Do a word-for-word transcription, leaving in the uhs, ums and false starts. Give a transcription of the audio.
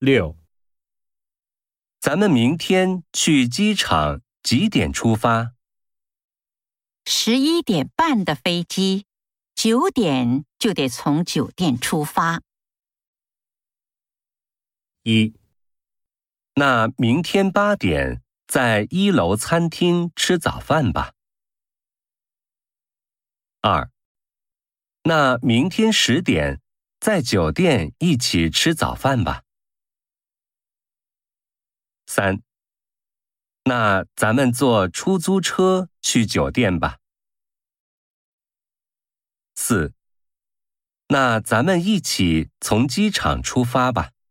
六， 咱们明天去机场几点出发？ 十一点半的飞机，九点就得从酒店出发。 一， 那明天八点在一楼餐厅吃早饭吧。二，那明天十点在酒店一起吃早饭吧。三，那咱们坐出租车去酒店吧。四，那咱们一起从机场出发吧。